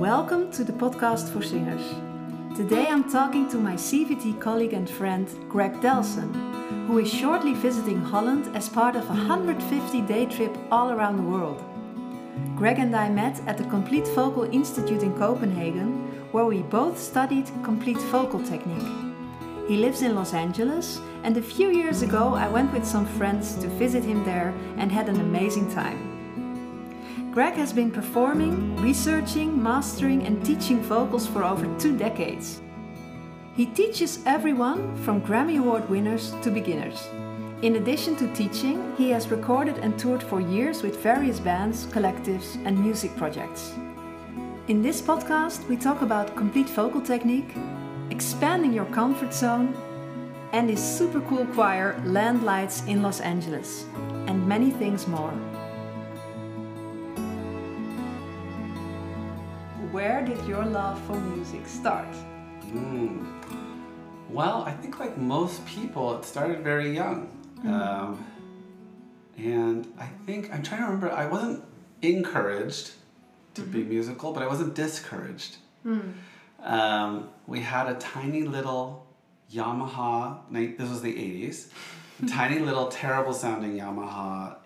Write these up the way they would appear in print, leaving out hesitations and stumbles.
Welcome to the podcast for singers. Today I'm talking to my CVT colleague and friend Greg Delson, who is shortly visiting Holland as part of a 150-day trip all around the world. Greg and I met at the Complete Vocal Institute in Copenhagen, where we both studied complete vocal technique. He lives in Los Angeles, and a few years ago I went with some friends to visit him there and had an amazing time. Greg has been performing, researching, mastering and teaching vocals for over 2 decades. He teaches everyone from Grammy Award winners to beginners. In addition to teaching, he has recorded and toured for years with various bands, collectives and music projects. In this podcast, we talk about complete vocal technique, expanding your comfort zone, and his super cool choir Landlights in Los Angeles, and many things more. Where did your love for music start? Well, I think like most people, it started very young. And I think, I'm trying to remember, I wasn't encouraged to be musical, but I wasn't discouraged. We had a tiny little Yamaha, this was the 80s, a tiny little terrible sounding Yamaha,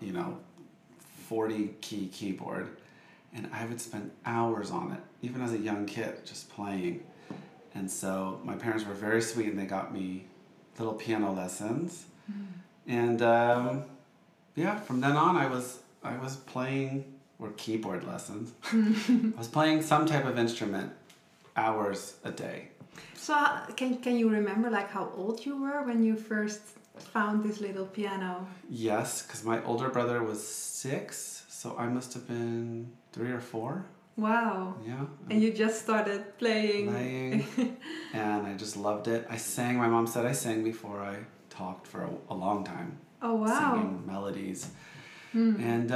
40 key keyboard. And I would spend hours on it, even as a young kid, just playing. And so my parents were very sweet and they got me little piano lessons. And from then on I was playing, or keyboard lessons. I was playing some type of instrument hours a day. So can you remember like how old you were when you first found this little piano? Yes, because my older brother was 6, so I must have been 3 or 4. Wow. Yeah. And you just started playing. And I just loved it. I sang, my mom said I sang before I talked for a long time. Oh, wow. Singing melodies. And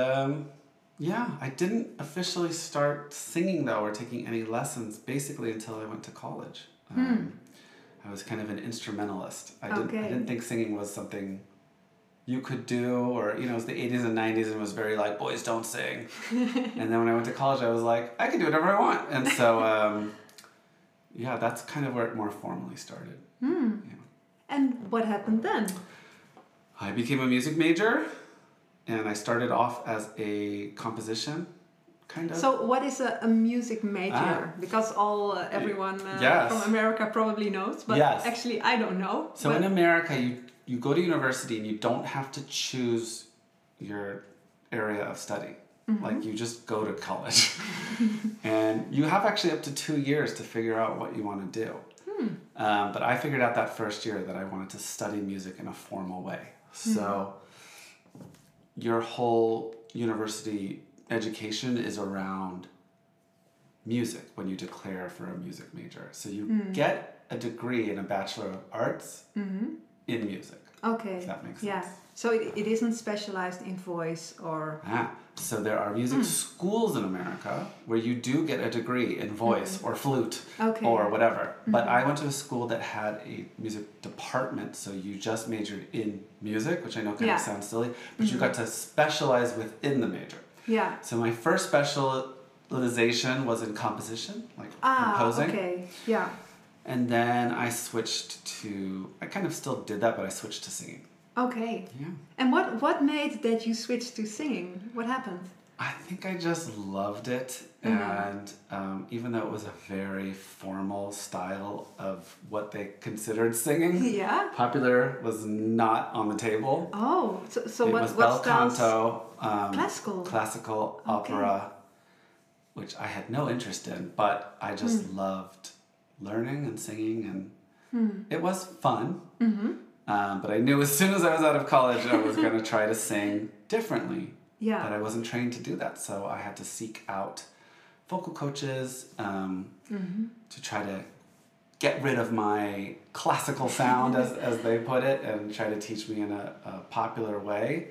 I didn't officially start singing though, or taking any lessons basically until I went to college. I was kind of an instrumentalist. I didn't think singing was something you could do, or it was the 80s and 90s and it was very like, boys don't sing. And then when I went to college I was like, I can do whatever I want. And so that's kind of where it more formally started. And what happened then? I became a music major and I started off as a composition kind of. So what is a music major? Because everyone from America probably knows, but actually I don't know. So in America you go to university and you don't have to choose your area of study. Like you just go to college. And you have actually up to 2 years to figure out what you want to do. But I figured out that first year that I wanted to study music in a formal way. So your whole university education is around music when you declare for a music major. So you get a degree in a Bachelor of Arts in music. Okay. If that makes sense. Yeah. So it isn't specialized in voice or... So there are music schools in America where you do get a degree in voice or flute or whatever. But I went to a school that had a music department, so you just majored in music, which I know kind of sounds silly, but you got to specialize within the major. Yeah. So my first specialization was in composition, like composing. Okay. Yeah. And then I switched to, I kind of still did that, but I switched to singing. Okay. Yeah. And what made that you switched to singing? What happened? I think I just loved it. And even though it was a very formal style of what they considered singing, popular was not on the table. Oh, so it what was bel styles? canto, classical, opera, which I had no interest in, but I just loved learning and singing, and it was fun. But I knew as soon as I was out of college I was going to try to sing differently. But I wasn't trained to do that, so I had to seek out vocal coaches to try to get rid of my classical sound, as they put it, and try to teach me in a popular way,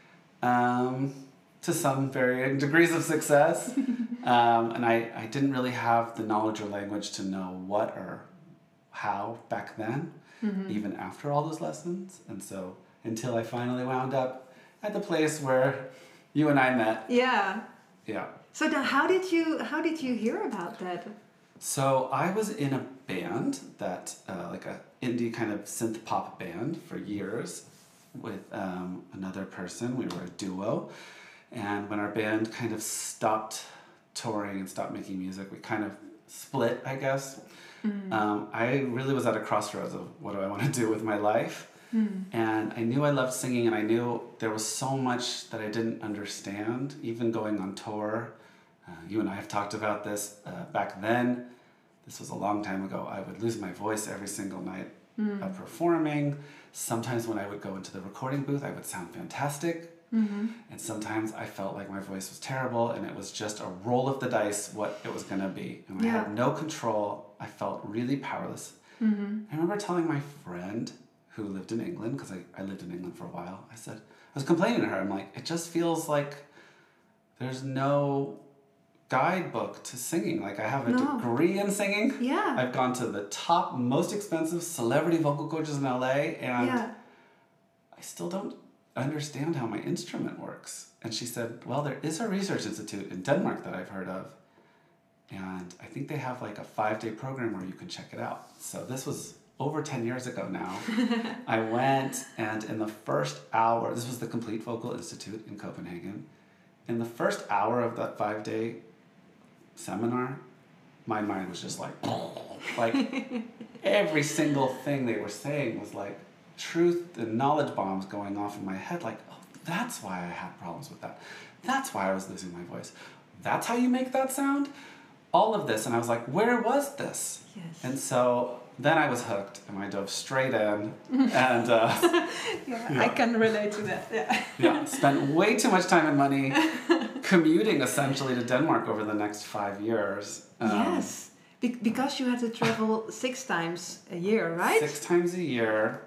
to some varying degrees of success. And I didn't really have the knowledge or language to know what or how back then, even after all those lessons. And so until I finally wound up at the place where you and I met. Yeah. Yeah. So now, how did you hear about that? So I was in a band that, like a indie kind of synth pop band for years with another person. We were a duo. And when our band kind of stopped touring and stopped making music, we kind of split, I guess. I really was at a crossroads of what do I want to do with my life. And I knew I loved singing, and I knew there was so much that I didn't understand, even going on tour. You and I have talked about this. Back then, this was a long time ago, I would lose my voice every single night of performing. Sometimes when I would go into the recording booth, I would sound fantastic. And sometimes I felt like my voice was terrible, and it was just a roll of the dice what it was going to be. And I had no control. I felt really powerless. I remember telling my friend who lived in England, because I lived in England for a while, I was complaining to her. I'm like, it just feels like there's no guidebook to singing. Like, I have a degree in singing. Yeah. I've gone to the top, most expensive celebrity vocal coaches in LA, and I still don't understand how my instrument works. And she said, well, there is a research institute in Denmark that I've heard of, and I think they have like a 5-day program where you can check it out. So this was over 10 years ago now. I went, and in the first hour, this was the Complete Vocal Institute in Copenhagen. In the first hour of that 5-day seminar, my mind was just like every single thing they were saying was like truth and knowledge bombs going off in my head. Like, oh, that's why I had problems with that. That's why I was losing my voice. That's how you make that sound? All of this. And I was like, where was this? Yes. And so then I was hooked, and I dove straight in, and I can relate to that. Spent way too much time and money commuting essentially to Denmark over the next 5 years. Yes, because you had to travel 6 times a year, right? 6 times a year,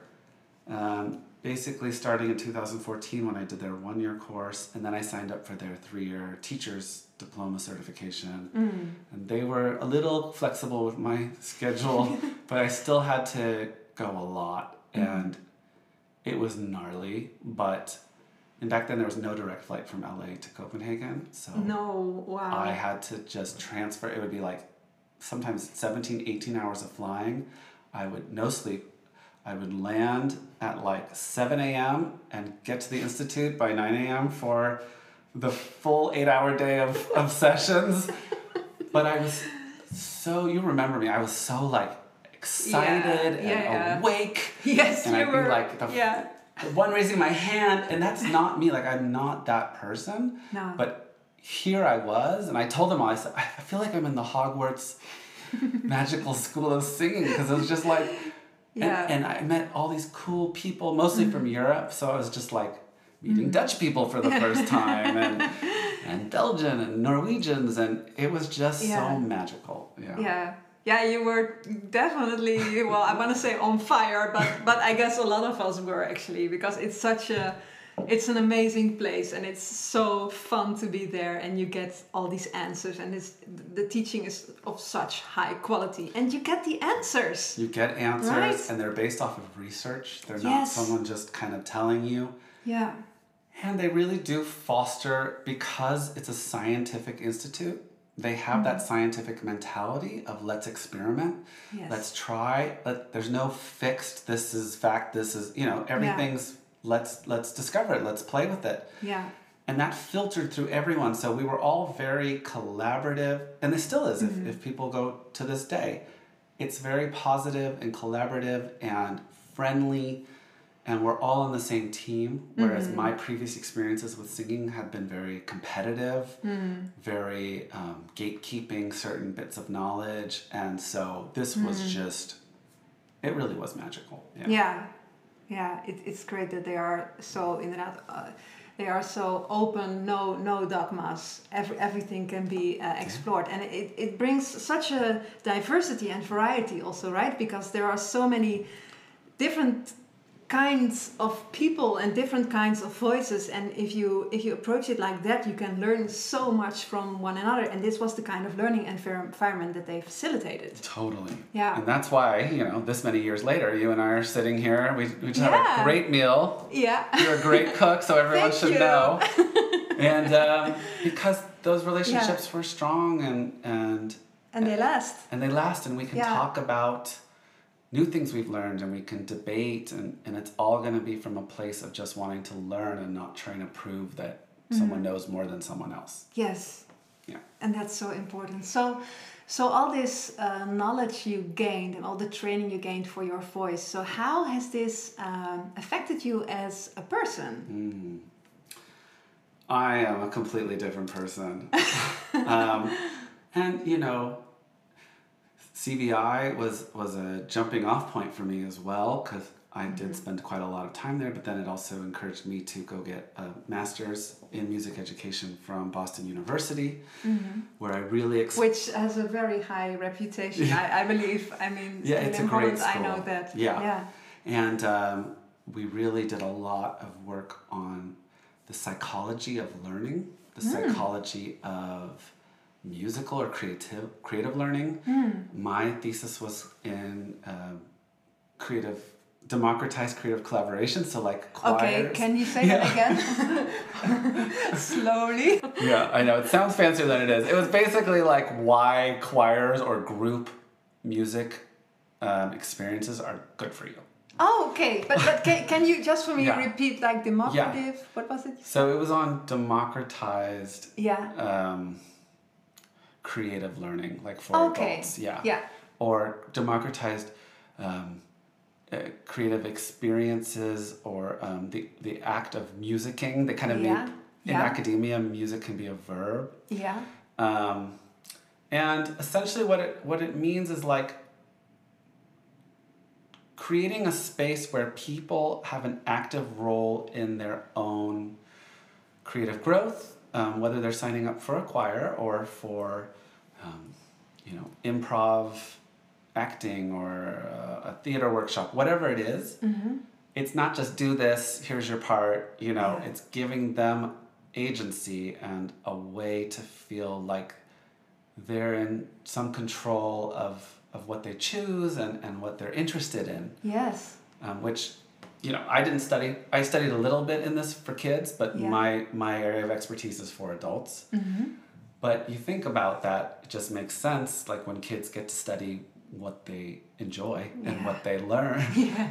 basically starting in 2014 when I did their 1-year course, and then I signed up for their 3-year teacher's diploma certification. And they were a little flexible with my schedule, but I still had to go a lot, and it was gnarly. And back then there was no direct flight from LA to Copenhagen, so I had to just transfer. It would be like sometimes 17, 18 hours of flying. No sleep. I would land at like 7 a.m. and get to the Institute by 9 a.m. for the full 8-hour day of sessions. But I was so, you remember me, I was so like excited and awake. Yes, and you I'd were. Be like the one raising my hand, and that's not me. Like, I'm not that person. No. But here I was, and I told them all, I said, I feel like I'm in the Hogwarts magical school of singing, because it was just like, and I met all these cool people, mostly from Europe, so I was just like meeting Dutch people for the first time, and Belgian and Norwegians, and it was just so magical. Yeah, you were definitely, well, I want to say on fire, but I guess a lot of us were actually, because it's an amazing place, and it's so fun to be there, and you get all these answers, and the teaching is of such high quality, and you get the answers. You get answers, right? And they're based off of research. They're not someone just kind of telling you. Yeah. And they really do foster, because it's a scientific institute, they have that scientific mentality of let's experiment, let's try, there's no fixed, this is fact, this is, everything's, let's discover it, let's play with it. Yeah. And that filtered through everyone, so we were all very collaborative, and it still is if people go to this day. It's very positive and collaborative and friendly, and we're all on the same team, whereas my previous experiences with singing had been very competitive, very gatekeeping certain bits of knowledge, and so this was just, it really was magical. Yeah, it's great that they are so, they are so open, no dogmas, everything can be explored, and it brings such a diversity and variety also, right? Because there are so many different kinds of people and different kinds of voices, and if you approach it like that, you can learn so much from one another, and this was the kind of learning environment that they facilitated. Totally. Yeah. And that's why, this many years later, you and I are sitting here, we just had a great meal. Yeah. You're a great cook, so everyone should know. And because those relationships were strong and they last. And they last, and we can talk about new things we've learned, and we can debate, and it's all going to be from a place of just wanting to learn and not trying to prove that someone knows more than someone else. Yes. Yeah. And that's so important. So all this knowledge you gained and all the training you gained for your voice, so how has this affected you as a person? I am a completely different person. And, you know, CVI was a jumping off point for me as well, because I did spend quite a lot of time there, but then it also encouraged me to go get a master's in music education from Boston University, where I really... Which has a very high reputation, I believe. I mean, it's a in great Holland, school. I know that. Yeah. And we really did a lot of work on the psychology of learning, the psychology of musical or creative learning. My thesis was in democratized creative collaboration, so like choirs. Okay, can you say that again? Slowly. Yeah, I know, it sounds fancier than it is. It was basically like why choirs or group music experiences are good for you. Oh, okay. But can you just for me repeat like democrative? Yeah. What was it? So it was on democratized creative learning, like for adults. Yeah. Or democratized creative experiences, or the act of musicking. They kind of make, in academia, music can be a verb. Yeah. And essentially what it means is like creating a space where people have an active role in their own creative growth, whether they're signing up for a choir or for, improv, acting, or a theater workshop, whatever it is. It's not just do this, here's your part, it's giving them agency and a way to feel like they're in some control of what they choose and what they're interested in. Yes. Which, I didn't study. I studied a little bit in this for kids, but my area of expertise is for adults. But you think about that, it just makes sense. Like when kids get to study what they enjoy and what they learn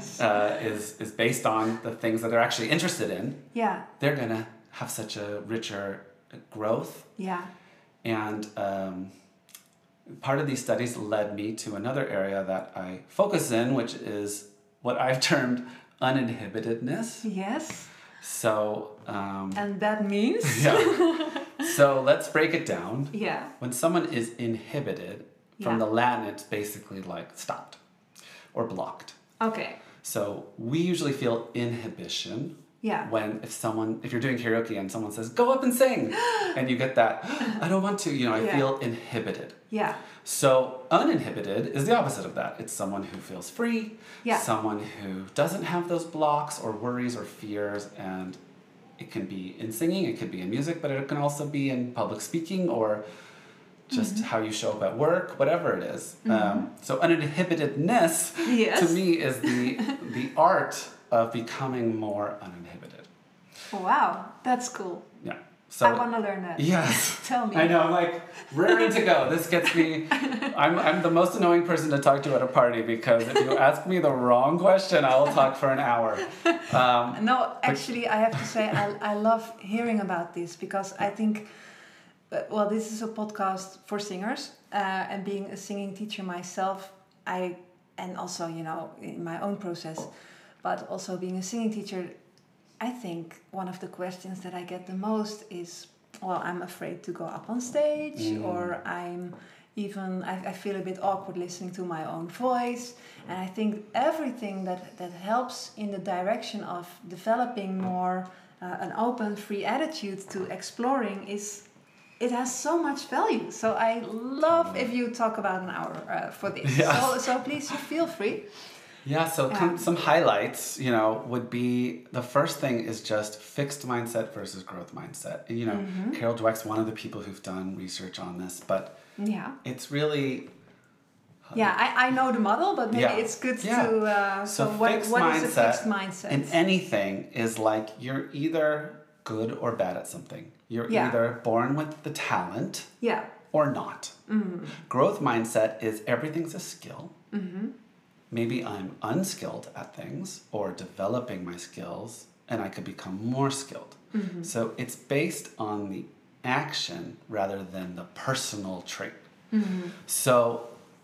is based on the things that they're actually interested in. Yeah. They're going to have such a richer growth. Yeah. And part of these studies led me to another area that I focus in, which is what I've termed uninhibitedness. Yes. So... and that means? Yeah. So let's break it down. Yeah. When someone is inhibited, from the Latin, it's basically like stopped or blocked. Okay. So we usually feel inhibition. Yeah. If you're doing karaoke and someone says, go up and sing, and you get that, I don't want to, I feel inhibited. Yeah. So uninhibited is the opposite of that. It's someone who feels free, someone who doesn't have those blocks or worries or fears, and it can be in singing, it could be in music, but it can also be in public speaking or just how you show up at work, whatever it is. So uninhibitedness to me is the art of becoming more uninhibited. Wow, that's cool. Yeah. So, I want to learn that. Yes. Tell me. I know, I'm like raring to go. This gets me, I'm the most annoying person to talk to at a party, because if you ask me the wrong question, I will talk for an hour. No, actually, I have to say I love hearing about this, because I think, this is a podcast for singers, and being a singing teacher myself, and also, in my own process, but also being a singing teacher, I think one of the questions that I get the most is, I'm afraid to go up on stage, or I feel a bit awkward listening to my own voice. And I think everything that helps in the direction of developing more an open, free attitude to exploring it has so much value. So I love if you talk about an hour for this. Yes. So please feel free. Yeah, so some highlights, would be, the first thing is just fixed mindset versus growth mindset. Carol Dweck's one of the people who've done research on this, but it's really... I know the model, but maybe it's good to... So what is a fixed mindset? In anything is like you're either good or bad at something. You're Yeah. either born with the talent Yeah. or not. Growth mindset is everything's a skill. Maybe I'm unskilled at things or developing my skills and I could become more skilled. So it's based on the action rather than the personal trait. So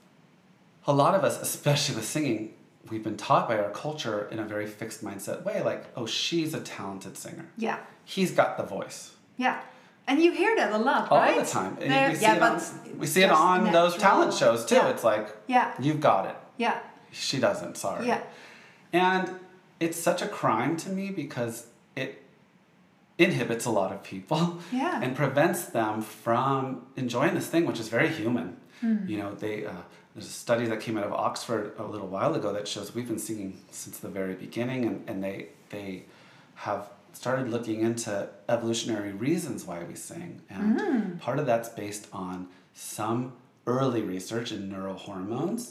a lot of us, especially with singing, we've been taught by our culture in a very fixed mindset way, like, oh, she's a talented singer. Yeah. He's got the voice. Yeah. And you hear that a lot, All right? the time. And There- we see yeah, it but we see it just on those natural. talent shows too. Yeah. It's like, Yeah. you've got it. Yeah. She doesn't, sorry. Yeah. And it's such a crime to me because it inhibits a lot of people Yeah. and prevents them from enjoying this thing, which is very human. You know, there's a study that came out of Oxford a little while ago that shows we've been singing since the very beginning, and they have started looking into evolutionary reasons why we sing. And part of that's based on some early research in neurohormones.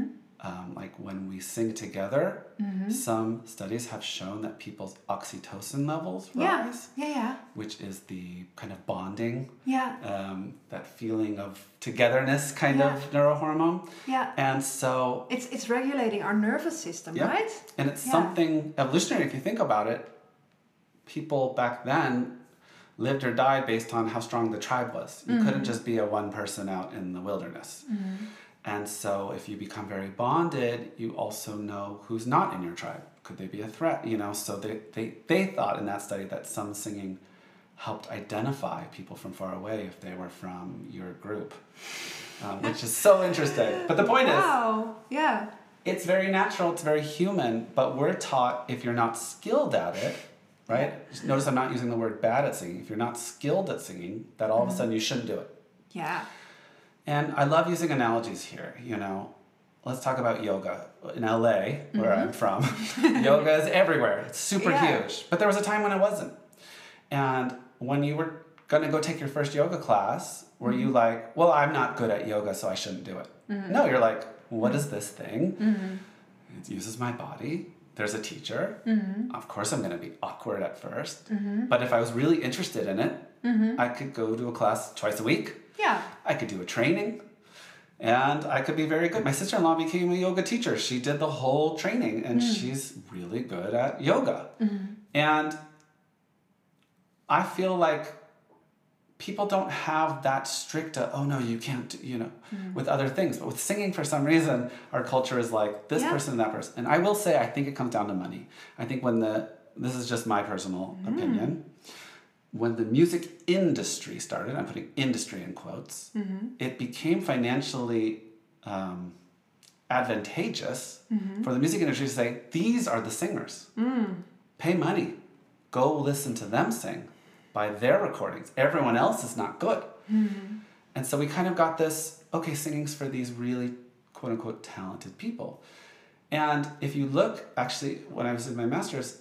Like when we sing together, some studies have shown that people's oxytocin levels Yeah. rise, Yeah. Yeah. which is the kind of bonding, Yeah. that feeling of togetherness kind Yeah. of neurohormone. Yeah. And so, It's regulating our nervous system, yeah. right? And it's Yeah. something evolutionary if you think about it. People back then lived or died based on how strong the tribe was. You couldn't just be a one person out in the wilderness. And so if you become very bonded, you also know who's not in your tribe. Could they be a threat? You know, so they thought in that study that some singing helped identify people from far away if they were from your group, which is so interesting. But the point is, Wow. Yeah. it's very natural, it's very human, but we're taught if you're not skilled at it, right? Notice I'm not using the word bad at singing. If you're not skilled at singing, that all of a sudden you shouldn't do it. Yeah. And I love using analogies here, you know. Let's talk about yoga. In LA, where I'm from, yoga is everywhere. It's super Yeah. huge. But there was a time when it wasn't. And when you were going to go take your first yoga class, were you like, well, I'm not good at yoga, so I shouldn't do it? No, you're like, what is this thing? It uses my body. There's a teacher. Of course, I'm going to be awkward at first. But if I was really interested in it, I could go to a class twice a week. Yeah. I could do a training and I could be very good. My sister-in-law became a yoga teacher. She did the whole training and she's really good at yoga. And I feel like people don't have that strict, oh no, you can't, you know, with other things. But with singing, for some reason, our culture is like this person and that person. And I will say, I think it comes down to money. I think this is just my personal opinion, when the music industry started, I'm putting industry in quotes, it became financially advantageous for the music industry to say, these are the singers. Pay money. Go listen to them sing. Buy their recordings. Everyone else is not good. And so we kind of got this, okay, singing's for these really quote-unquote talented people. And if you look, actually, when I was in my master's,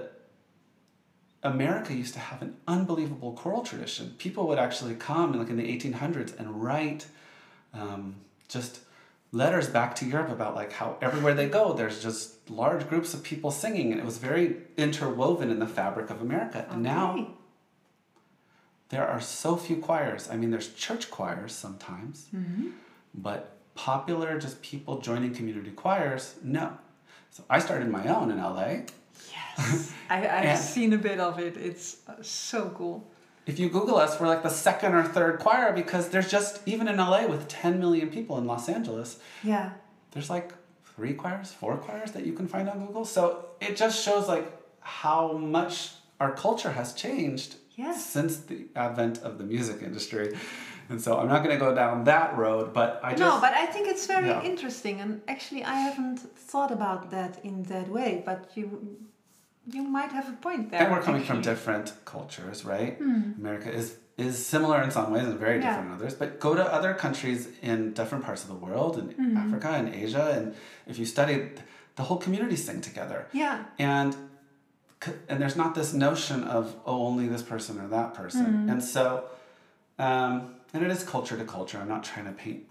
America used to have an unbelievable choral tradition. People would actually come like in the 1800s and write just letters back to Europe about like how everywhere they go, there's just large groups of people singing. And it was very interwoven in the fabric of America. And now there are so few choirs. I mean, there's church choirs sometimes, but popular just people joining community choirs, no. So I started my own in LA. Yes. I've seen a bit of it. It's so cool. If you Google us, we're like the second or third choir because there's just, even in LA with 10 million people in Los Angeles, there's like 4 choirs that you can find on Google. So it just shows like how much our culture has changed since the advent of the music industry. And so I'm not going to go down that road, but but I think it's very interesting. And actually, I haven't thought about that in that way, but you might have a point there. And we're coming from different cultures, right? America is similar in some ways and very different in others. But go to other countries in different parts of the world, in Africa and Asia, and if you study, the whole community sing together. Yeah. And there's not this notion of, oh, only this person or that person. And so, and it is culture to culture. I'm not trying to paint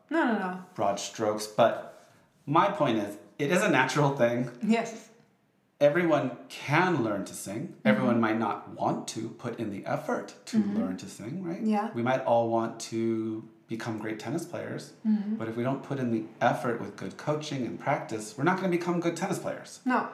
broad strokes, but my point is, it is a natural thing. Yes. everyone can learn to sing. Everyone might not want to put in the effort to learn to sing, right? Yeah. We might all want to become great tennis players, but if we don't put in the effort with good coaching and practice, we're not going to become good tennis players. No.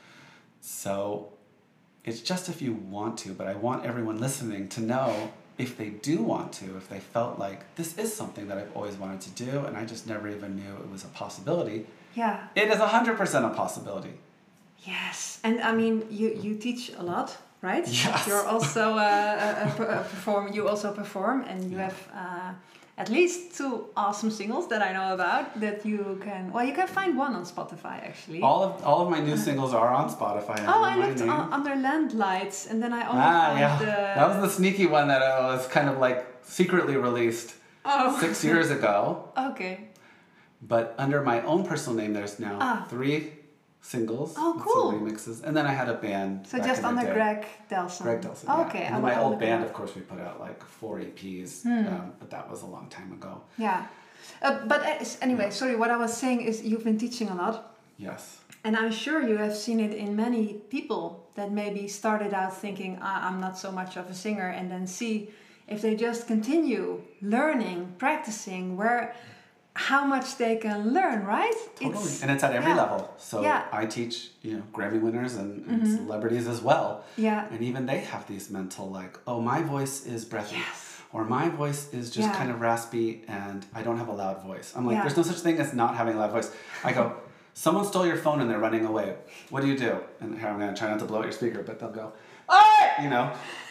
So it's just if you want to, but I want everyone listening to know if they do want to, if they felt like this is something that I've always wanted to do and I just never even knew it was a possibility. Yeah. It is 100% a possibility. Yes. And I mean, you teach a lot, right? Yes. You're also a performer. You also perform, and you have at least 2 awesome singles that I know about that you can. Well, you can find one on Spotify actually. All of my new singles are on Spotify. I looked under Landlights, and then I only found that was the sneaky one that was kind of like secretly released 6 years ago. Okay. But under my own personal name, there's now 3 singles. Oh, cool. Some remixes. And then I had a band. So just under Greg Delson. Greg Delson. Oh, yeah. okay. And then my old band, of course, we put out like 4 EPs, but that was a long time ago. Yeah. But anyway, sorry, what I was saying is you've been teaching a lot. Yes. And I'm sure you have seen it in many people that maybe started out thinking, I'm not so much of a singer, and then see if they just continue learning, practicing, how much they can learn, right? Totally. And it's at every level. So I teach, Grammy winners and celebrities as well. Yeah. And even they have these mental like, oh, my voice is breathy. Yes. Or my voice is just kind of raspy and I don't have a loud voice. I'm like, there's no such thing as not having a loud voice. I go, someone stole your phone and they're running away. What do you do? And here I'm going to try not to blow out your speaker, but they'll go, and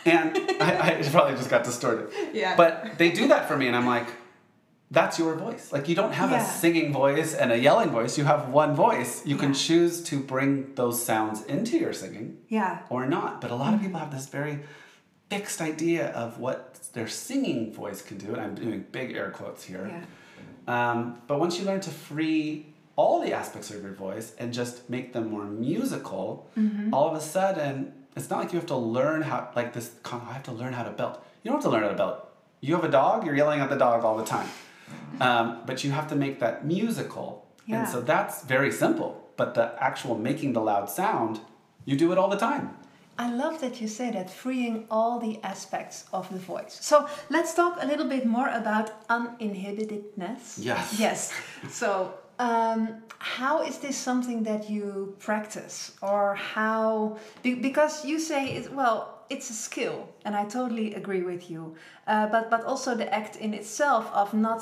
I probably just got distorted. Yeah. But they do that for me and I'm like, that's your voice. Like you don't have a singing voice and a yelling voice. You have one voice. You can choose to bring those sounds into your singing or not. But a lot of people have this very fixed idea of what their singing voice can do. And I'm doing big air quotes here. Yeah. But once you learn to free all the aspects of your voice and just make them more musical, all of a sudden, it's not like you have to learn how, I have to learn how to belt. You don't have to learn how to belt. You have a dog, you're yelling at the dog all the time. But you have to make that musical. Yeah. And so that's very simple. But the actual making the loud sound, you do it all the time. I love that you say that, freeing all the aspects of the voice. So let's talk a little bit more about uninhibitedness. Yes. Yes. So how is this something that you practice? Or how... Because you say, it's a skill, and I totally agree with you. But also the act in itself of not...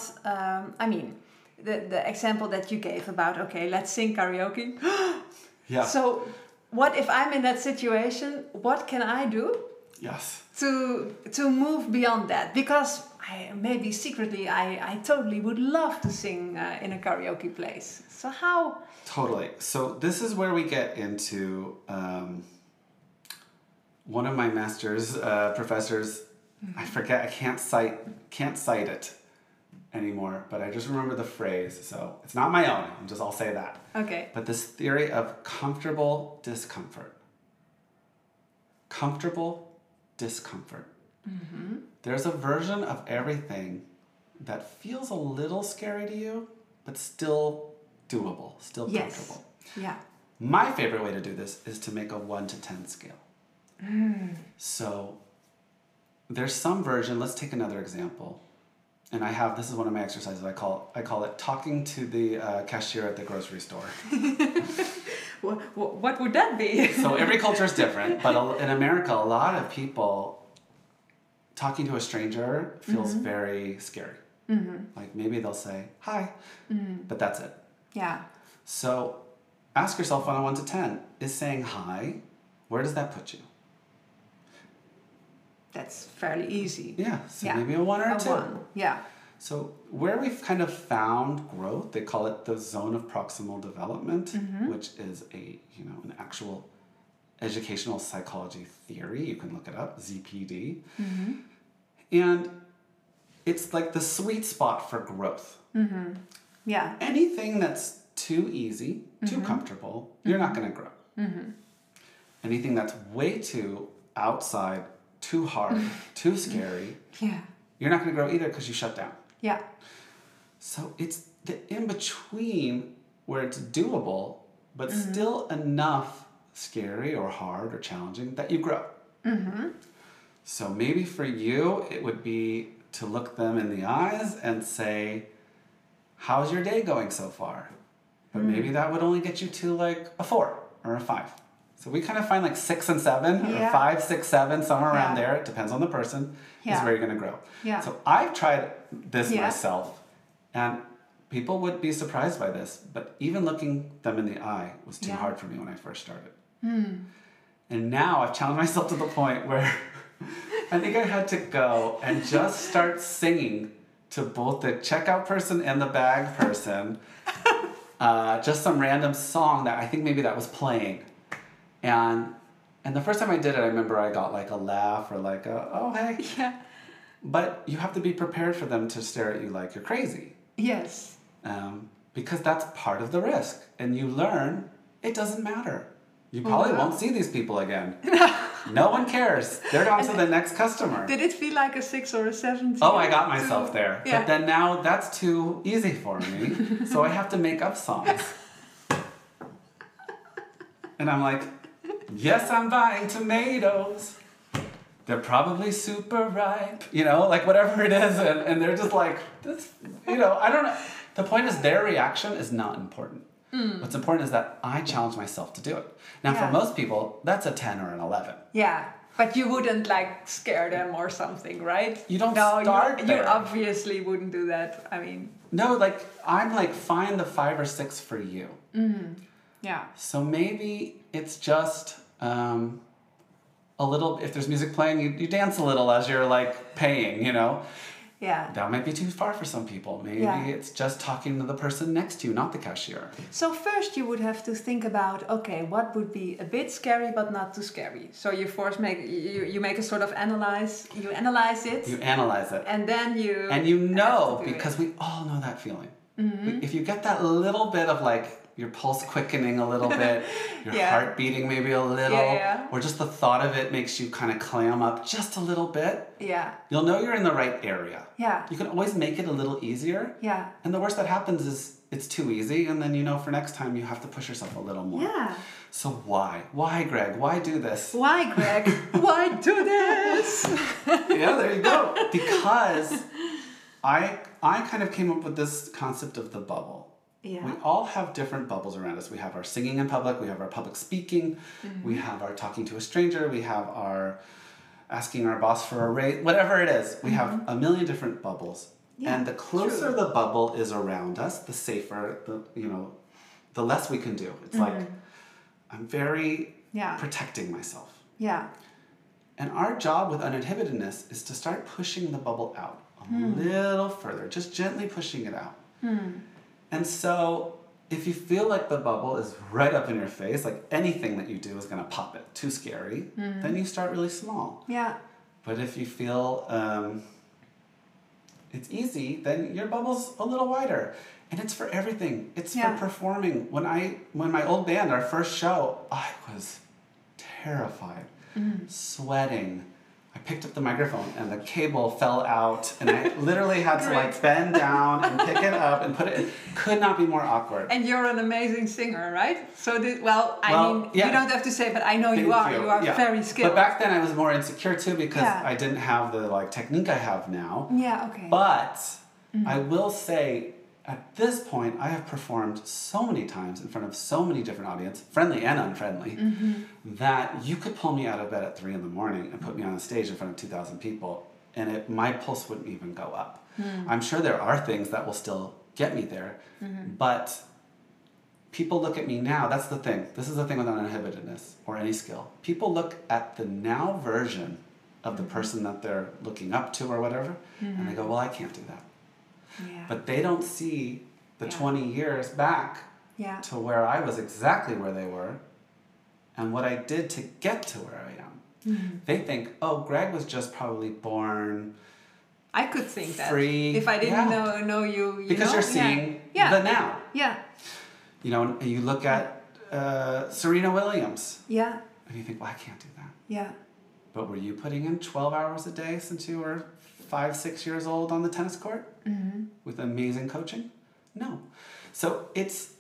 the example that you gave about, okay, let's sing karaoke. Yeah. So what if I'm in that situation? What can I do? Yes. To move beyond that? Because maybe secretly I totally would love to sing in a karaoke place. So how... Totally. So this is where we get into... one of my master's professors, I forget, I can't cite it anymore, but I just remember the phrase. So it's not my own, I'll say that. Okay. But this theory of comfortable discomfort. Comfortable discomfort. Mm-hmm. There's a version of everything that feels a little scary to you, but still doable, still comfortable. Yeah. My favorite way to do this is to make a 1 to 10 scale. So there's some version, let's take another example. And this is one of my exercises, I call it talking to the cashier at the grocery store. What would that be? So every culture is different, but in America, a lot of people, talking to a stranger feels very scary. Mm-hmm. Like maybe they'll say, hi, but that's it. Yeah. So ask yourself on a 1 to 10, is saying hi, where does that put you? That's fairly easy. Yeah, so maybe a 1 or a 2. 1, yeah. So where we've kind of found growth, they call it the zone of proximal development, which is an actual educational psychology theory. You can look it up, ZPD. Mm-hmm. And it's like the sweet spot for growth. Mm-hmm. Yeah. Anything that's too easy, too comfortable, you're not going to grow. Mm-hmm. Anything that's way too outside, too hard, too scary, you're not going to grow either because you shut down. Yeah. So it's the in-between where it's doable, but still enough scary or hard or challenging, that you grow. Mm-hmm. So maybe for you, it would be to look them in the eyes and say, how's your day going so far? But maybe that would only get you to like a 4 or a 5. So we kind of find like 6 and 7 or 5, 6, 7, somewhere around there. It depends on the person. Is where you're going to grow. Yeah. So I've tried this myself, and people would be surprised by this, but even looking them in the eye was too hard for me when I first started. And now I've challenged myself to the point where I think I had to go and just start singing to both the checkout person and the bag person, just some random song that I think maybe that was playing. And the first time I did it, I remember I got like a laugh or like a, oh, hey. Yeah. But you have to be prepared for them to stare at you like you're crazy. Yes. Because that's part of the risk. And you learn it doesn't matter. You probably won't see these people again. No one cares. They're on to the next customer. Did it feel like a 6 or a 7? Oh, I got myself there. Yeah. But then now that's too easy for me. So I have to make up songs. And I'm like, yes, I'm buying tomatoes. They're probably super ripe. You know, like whatever it is. And they're just like, this, you know, I don't know. The point is their reaction is not important. What's important is that I challenge myself to do it. Now, for most people, that's a 10 or an 11. Yeah, but you wouldn't like scare them or something, right? You don't start you there. obviously wouldn't do that. I mean... No, like, I'm like, find the 5 or 6 for you. Yeah. So maybe it's just a little, if there's music playing, you dance a little as you're like paying, you know? Yeah. That might be too far for some people. Maybe it's just talking to the person next to you, not the cashier. So first you would have to think about, okay, what would be a bit scary but not too scary? So you make a sort of analyze it. You analyze it. And then you... And you know, because we all know that feeling. If you get that little bit of like your pulse quickening a little bit, your heart beating maybe a little, or just the thought of it makes you kind of clam up just a little bit, you'll know you're in the right area. Yeah. You can always make it a little easier. Yeah. And the worst that happens is it's too easy, and then you know for next time you have to push yourself a little more. Yeah. So why? Why, Greg? Why do this? Why, Greg? Why do this? Yeah, there you go. Because I kind of came up with this concept of the bubble. Yeah. We all have different bubbles around us. We have our singing in public, we have our public speaking, we have our talking to a stranger, we have our asking our boss for a raise, whatever it is. We have a million different bubbles. Yeah, and the closer the bubble is around us, the safer, the less we can do. It's like, I'm very protecting myself. Yeah. And our job with uninhibitedness is to start pushing the bubble out a little further, just gently pushing it out. And so if you feel like the bubble is right up in your face, like anything that you do is going to pop it, too scary, then you start really small. Yeah. But if you feel it's easy, then your bubble's a little wider. And it's for everything. It's for performing. When my old band, our first show, I was terrified, sweating. I picked up the microphone and the cable fell out, and I literally had to like bend down and pick it up and put it. It could not be more awkward. And you're an amazing singer, right? So you don't have to say, but I know you are. You are very skilled. But back then I was more insecure too because I didn't have the like technique I have now. Yeah. Okay. But I will say, at this point, I have performed so many times in front of so many different audiences, friendly and unfriendly, that you could pull me out of bed at 3 a.m. and put me on a stage in front of 2,000 people, and my pulse wouldn't even go up. I'm sure there are things that will still get me there, but people look at me now. That's the thing. This is the thing with uninhibitedness or any skill. People look at the now version of the person that they're looking up to or whatever, and they go, well, I can't do that. Yeah. But they don't see the 20 years back to where I was exactly where they were and what I did to get to where I am. They think, oh, Greg was just probably born I could think free. That. If I didn't know you because you're seeing the now. Yeah. You know, and you look at Serena Williams. Yeah. And you think, well, I can't do that. Yeah. But were you putting in 12 hours a day since you were 5, 6 years old on the tennis court with amazing coaching? No. So it's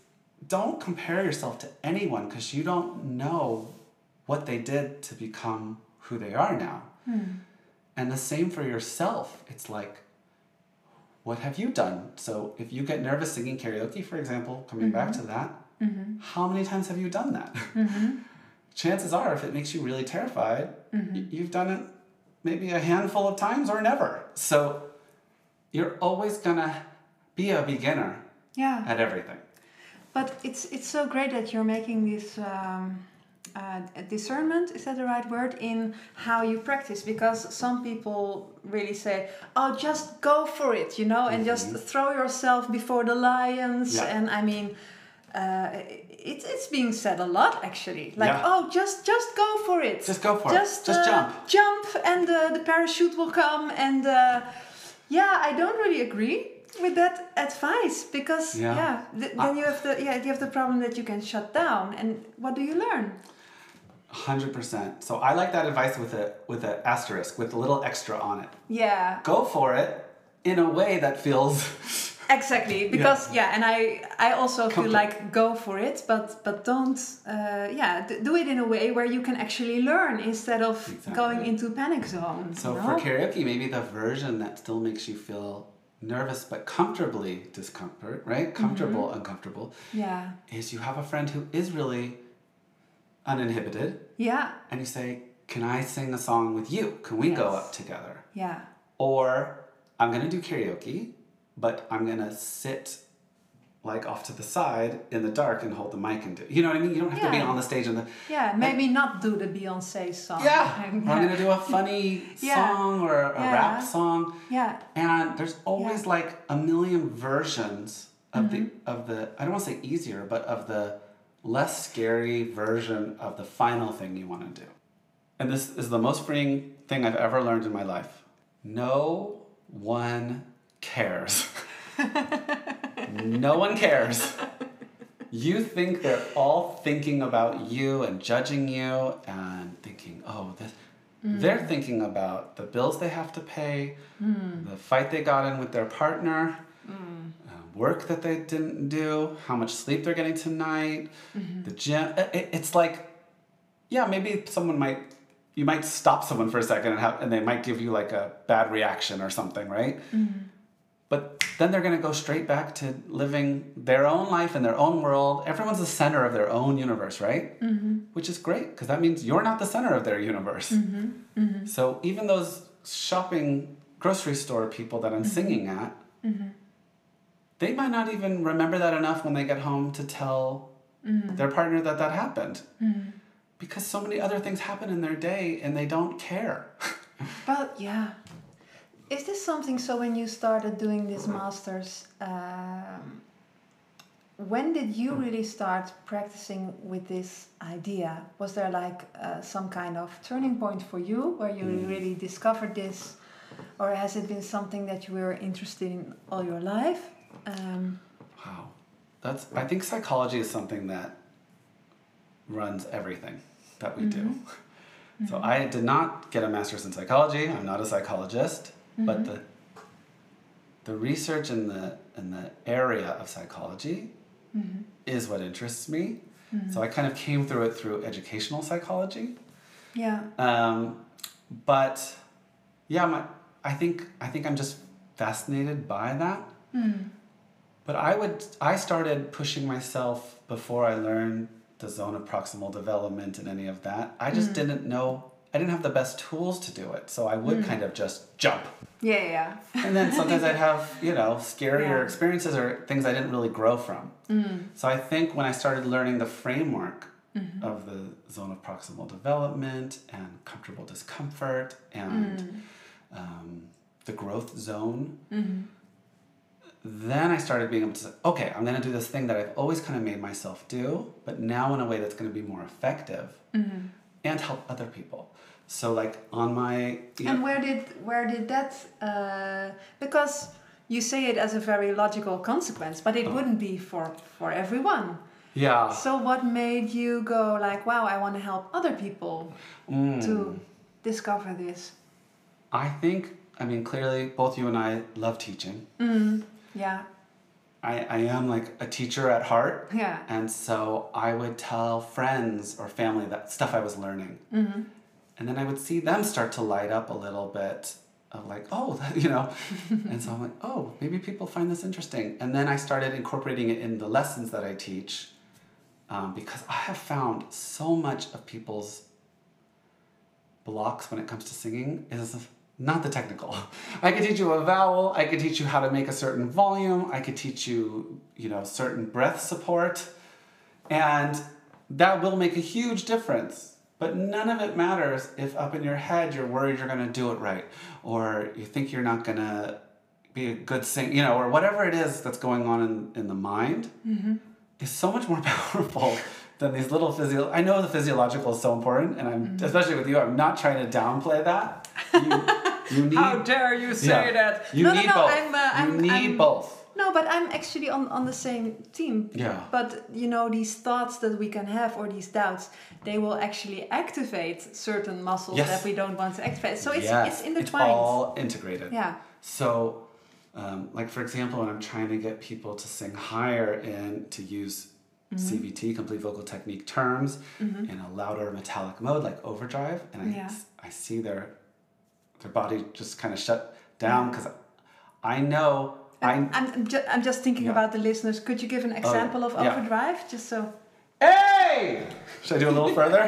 don't compare yourself to anyone because you don't know what they did to become who they are now. And the same for yourself. It's like, what have you done? So if you get nervous singing karaoke, for example, coming back to that, how many times have you done that? Chances are, if it makes you really terrified, you've done it maybe a handful of times or never. So you're always gonna be a beginner at everything. But it's so great that you're making this discernment, is that the right word, in how you practice, because some people really say, oh, just go for it, you know, and just throw yourself before the lions. And I mean, it's being said a lot, actually, like, oh, just go for it, just go for it, just jump and the parachute will come. And I don't really agree with that advice, because then you have the problem that you can shut down, and what do you learn? 100%. So I like that advice with an asterisk, with a little extra on it. Yeah. Go for it in a way that feels exactly, because and I also feel like go for it, but don't do it in a way where you can actually learn instead of going into panic zone. So for karaoke, maybe the version that still makes you feel nervous but comfortably discomfort, right? Comfortable, uncomfortable. Yeah. Is you have a friend who is really uninhibited. Yeah. And you say, can I sing a song with you? Can we go up together? Yeah. Or I'm going to do karaoke, but I'm going to sit like off to the side in the dark and hold the mic and do, you know what I mean? You don't have to be on the stage and maybe not do the Beyonce song. Yeah. Or I'm going to do a funny song or a rap song. Yeah. And there's always like a million versions of the I don't want to say easier, but of the less scary version of the final thing you want to do. And this is the most freeing thing I've ever learned in my life. No one cares. No one cares. You think they're all thinking about you and judging you and thinking, they're thinking about the bills they have to pay, the fight they got in with their partner, work that they didn't do, how much sleep they're getting tonight, the gym. It's like, maybe you might stop someone for a second and they might give you like a bad reaction or something, right? But then they're going to go straight back to living their own life in their own world. Everyone's the center of their own universe, right? Which is great, because that means you're not the center of their universe. So even those shopping grocery store people that I'm singing at, they might not even remember that enough when they get home to tell their partner that happened. Because so many other things happen in their day and they don't care. But is this something, so when you started doing this masters, when did you really start practicing with this idea? Was there like some kind of turning point for you where you really discovered this? Or has it been something that you were interested in all your life? Wow. I think psychology is something that runs everything that we do. So I did not get a master's in psychology. I'm not a psychologist, but the research in the area of psychology is what interests me. So I kind of came through it through educational psychology. Yeah. But I think I'm just fascinated by that. But I started pushing myself before I learned the zone of proximal development and any of that. I just didn't know, I didn't have the best tools to do it. So I would kind of just jump. Yeah. And then sometimes I'd have, scarier experiences or things I didn't really grow from. So I think when I started learning the framework of the zone of proximal development and comfortable discomfort and the growth zone, then I started being able to say, okay, I'm going to do this thing that I've always kind of made myself do, but now in a way that's going to be more effective and help other people. So like on my... And where did that... because you say it as a very logical consequence, but it wouldn't be for everyone. Yeah. So what made you go like, wow, I want to help other people to discover this? I think, clearly both you and I love teaching. Yeah. I am like a teacher at heart. Yeah. And so I would tell friends or family that stuff I was learning. Mm-hmm. And then I would see them start to light up a little bit of like, oh, you know. And so I'm like, oh, maybe people find this interesting. And then I started incorporating it in the lessons that I teach, because I have found so much of people's blocks when it comes to singing is not the technical. I could teach you a vowel. I could teach you how to make a certain volume. I could teach you, you know, certain breath support. And that will make a huge difference. But none of it matters if up in your head you're worried you're going to do it right, or you think you're not going to be a good singer, you know, or whatever it is that's going on in the mind is so much more powerful than these little I know the physiological is so important, and I'm especially with you, I'm not trying to downplay that. You need. How dare you say that? You need both. I'm need both. No, but I'm actually on the same team. Yeah. But, you know, these thoughts that we can have, or these doubts, they will actually activate certain muscles that we don't want to activate. So it's intertwined. It's all integrated. Yeah. So, like for example, when I'm trying to get people to sing higher and to use CVT, complete vocal technique terms, in a louder metallic mode like overdrive, and I see their body just kind of shut down because I know. I'm just thinking about the listeners. Could you give an example of overdrive, just so? Hey! Should I do a little further?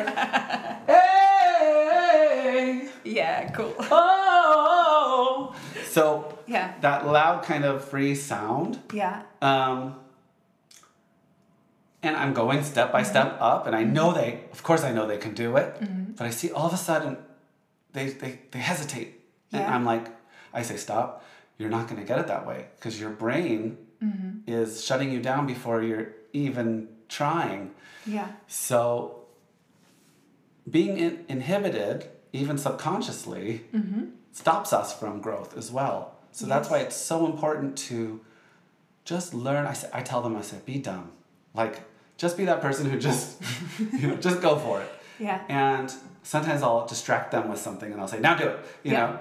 Hey! Yeah, cool. Oh! So that loud kind of free sound. Yeah. And I'm going step by step up, and I know of course I know they can do it, but I see all of a sudden they hesitate, and I'm like, I say stop. You're not going to get it that way because your brain is shutting you down before you're even trying. Yeah. So being inhibited, even subconsciously, stops us from growth as well. So that's why it's so important to just learn. I tell them, I say, be dumb. Like, just be that person who just, just go for it. Yeah. And sometimes I'll distract them with something and I'll say, now do it, you know,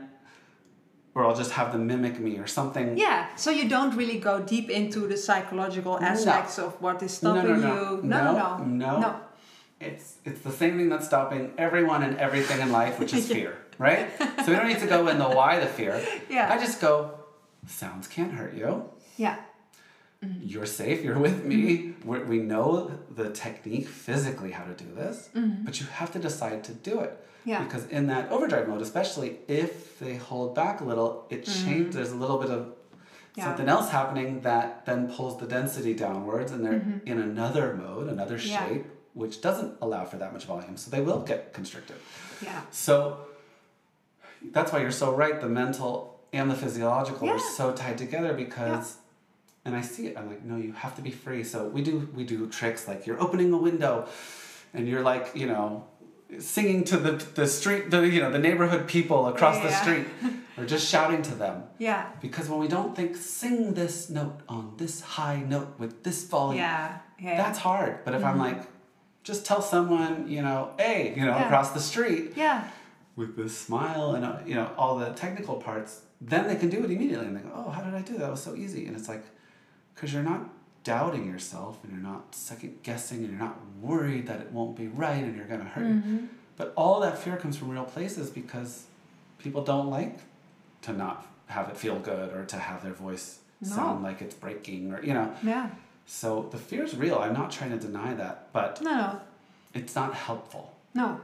or I'll just have them mimic me or something. Yeah, so you don't really go deep into the psychological aspects of what is stopping you. No. It's the same thing that's stopping everyone and everything in life, which is fear, right? So we don't need to go in the why the fear. Yeah. I just go, sounds can't hurt you. Yeah. You're safe, you're with me. We know the technique physically how to do this, but you have to decide to do it. Yeah. Because in that overdrive mode, especially if they hold back a little, it changes. There's a little bit of something else happening that then pulls the density downwards, and they're in another mode, another shape, which doesn't allow for that much volume. So they will get constricted. Yeah. So that's why you're so right. The mental and the physiological are so tied together because, and I see it. I'm like, no, you have to be free. So we do tricks like you're opening a window, and you're like, singing to the street, the neighborhood people across the street, or just shouting to them. Yeah. Because when we don't think, sing this note on this high note with this volume, that's hard. But if I'm like, just tell someone, hey, across the street, with this smile and all the technical parts, then they can do it immediately, and they go, oh, how did I do that? That was so easy. And it's like, because you're not doubting yourself, and you're not second guessing, and you're not worried that it won't be right and you're going to hurt you. But all that fear comes from real places because people don't like to not have it feel good or to have their voice sound like it's breaking or so the fear is real. I'm not trying to deny that, but it's not helpful. No.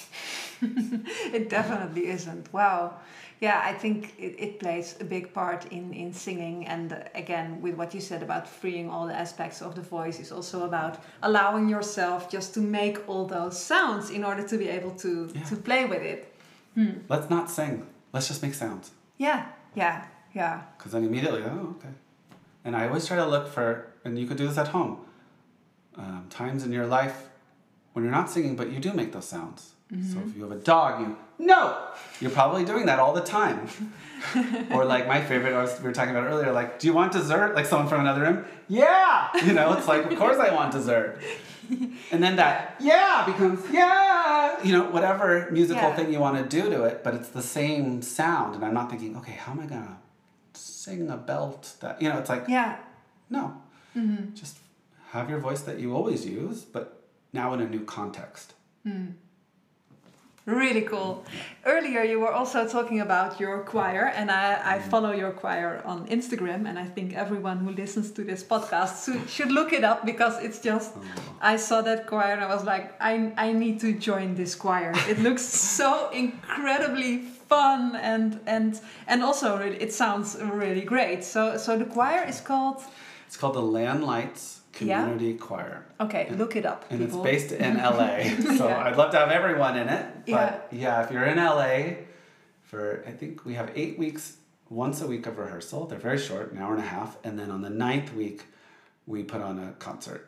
It definitely isn't. Wow. Yeah, I think it plays a big part in singing, and again, with what you said about freeing all the aspects of the voice, is also about allowing yourself just to make all those sounds in order to be able to play with it. Let's not sing. Let's just make sounds. Yeah. Because then immediately, okay. And I always try to look for, and you could do this at home, times in your life when you're not singing, but you do make those sounds. So if you have a dog, you're probably doing that all the time. Or like my favorite, we were talking about earlier, like, do you want dessert? Like someone from another room? Yeah! It's like, of course I want dessert. And then that, becomes, whatever musical thing you want to do to it, but it's the same sound. And I'm not thinking, okay, how am I going to sing a belt that, it's like, No. Just have your voice that you always use, but now in a new context. Really cool. Earlier you were also talking about your choir, and I follow your choir on Instagram, and I think everyone who listens to this podcast should look it up, because it's just, I saw that choir and I was like, I need to join this choir. It looks so incredibly fun, and also it sounds really great. So the choir is called? It's called the Land Lights Community Choir. Okay, look it up, and people. it's based in LA, so I'd love to have everyone in it. But yeah, if you're in LA, I think we have 8 weeks, once a week of rehearsal. They're very short, an hour and a half, and then on the 9th week, we put on a concert.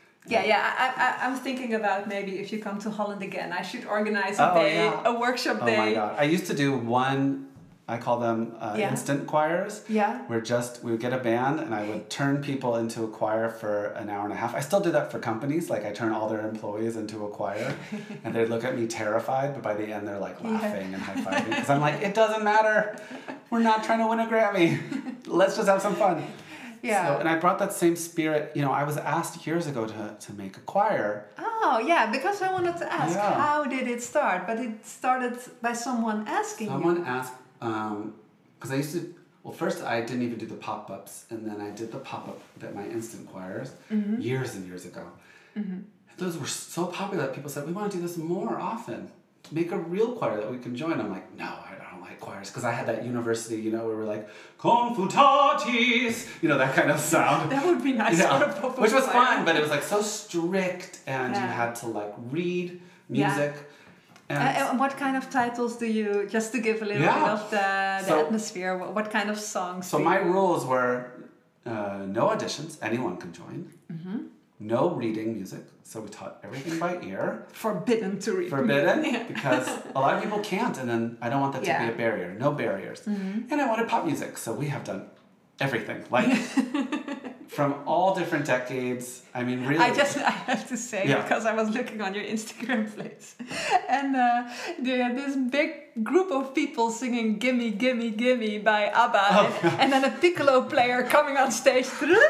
I'm thinking about maybe if you come to Holland again, I should organize a day, a workshop day. Oh my God, I used to do one. I call them instant choirs. Yeah. Where we would get a band and I would turn people into a choir for an hour and a half. I still do that for companies. Like I turn all their employees into a choir and they'd look at me terrified, but by the end they're like laughing and high-fiving. Because I'm like, it doesn't matter. We're not trying to win a Grammy. Let's just have some fun. Yeah. So, and I brought that same spirit. You know, I was asked years ago to make a choir. Oh, yeah, because I wanted to ask, how did it start? But it started by someone asking Someone asked, because I used to, first I didn't even do the pop-ups, and then I did the pop-up at my instant choirs years and years ago. Those were so popular that people said, we want to do this more often. Make a real choir that we can join. I'm like, no, I don't like choirs, because I had that university, you know, where we're like, confutatis, you know, that kind of sound. That would be nice for a pop-up which was choir. fun, but it was like so strict, and you had to like read music. And what kind of titles do you, just to give a little bit of the atmosphere, what kind of songs? So my rules were no auditions, anyone can join. No reading music, so we taught everything by ear. Forbidden to read. Forbidden, because a lot of people can't, and then I don't want that to be a barrier. No barriers. And I wanted pop music, so we have done everything. Like, from all different decades. I mean, really. I have to say, because I was looking on your Instagram place, and they had this big group of people singing "Gimme, Gimme, Gimme" by ABBA, and then a piccolo player coming on stage.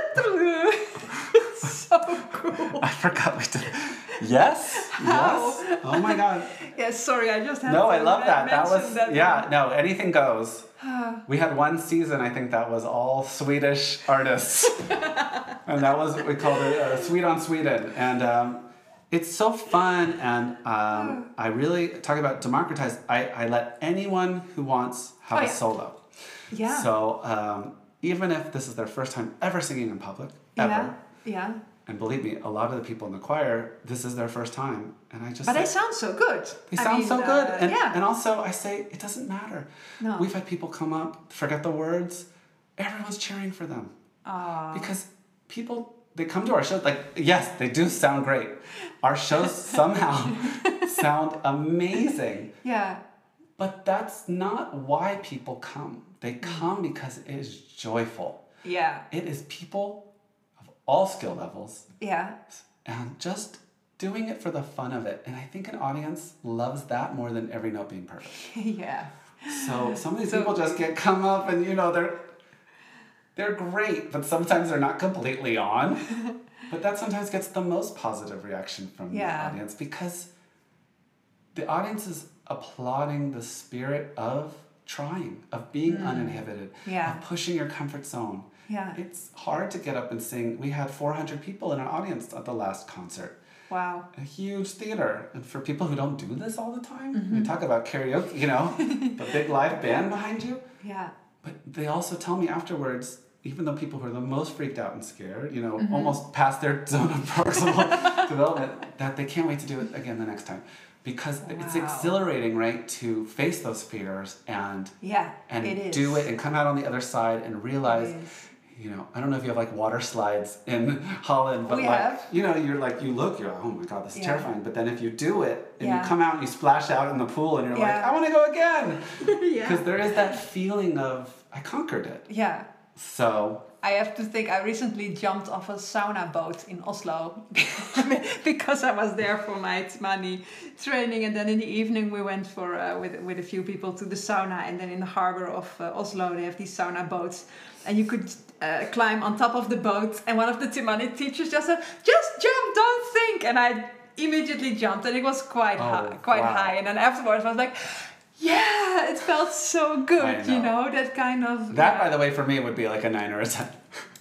So cool. I forgot we did. Yes. How? Yes. Oh my God. Yes. Sorry, I just had. No, to I love that. That was that no. Anything goes. We had one season, I think that was all Swedish artists, and that was what we called it Sweet on Sweden, and it's so fun, and I really talk about democratize. I let anyone who wants have a solo. Yeah. So even if this is their first time ever singing in public, ever. Yeah. And believe me, a lot of the people in the choir, this is their first time, and I just. But they sound so good. They sound so good, and also I say it doesn't matter. No. We've had people come up, forget the words, everyone's cheering for them. Because people, they come to our show, like, yes, they do sound great. Our shows somehow sound amazing. Yeah. But that's not why people come. They come because it is joyful. Yeah. It is people of all skill levels. Yeah. And just doing it for the fun of it. And I think an audience loves that more than every note being perfect. Yeah. So some of these people just come up and, you know, they're great, but sometimes they're not completely on. But that sometimes gets the most positive reaction from the audience, because the audience is applauding the spirit of trying, of being uninhibited, of pushing your comfort zone. Yeah. It's hard to get up and sing. We had 400 people in our audience at the last concert. Wow. A huge theater. And for people who don't do this all the time, we talk about karaoke, you know, the big live band behind you. Yeah. But they also tell me afterwards, even though people who are the most freaked out and scared, you know, almost past their zone of proximal development, that they can't wait to do it again the next time. Because it's exhilarating, right, to face those fears and do it and come out on the other side and realize, you know, I don't know if you have like water slides in Holland, but you know, you're like, you're like, oh my God, this is terrifying. But then if you do it and you come out and you splash out in the pool and you're like, I want to go again. Because there is that feeling of, I conquered it. Yeah. So I have to think, I recently jumped off a sauna boat in Oslo because I was there for my Tzmani training, and then in the evening we went for with a few people to the sauna, and then in the harbor of Oslo they have these sauna boats, and you could climb on top of the boat, and one of the Tzmani teachers just said, "Just jump, don't think," and I immediately jumped, and it was quite high, and then afterwards I was like, yeah, it felt so good, you know, that kind of... That, by the way, for me would be like a 9 or a 10.